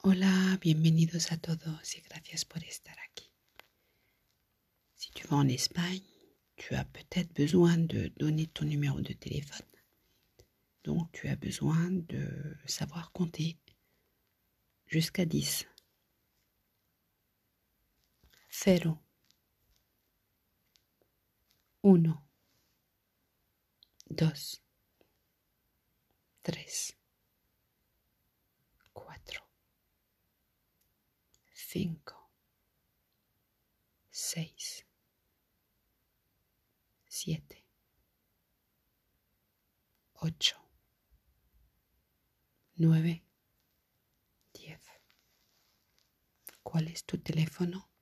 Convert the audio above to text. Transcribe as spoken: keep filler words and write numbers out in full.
Hola, bienvenidos a todos y gracias por estar aquí. Si tu vas en Espagne, tu as peut-être besoin de donner ton numéro de téléphone. Donc, tu as besoin de savoir compter jusqu'à dix. Cero. Uno. Dos. Tres. Cuatro. Cinco. Seis. Siete. Ocho. Nueve. Diez. ¿Cuál es tu teléfono?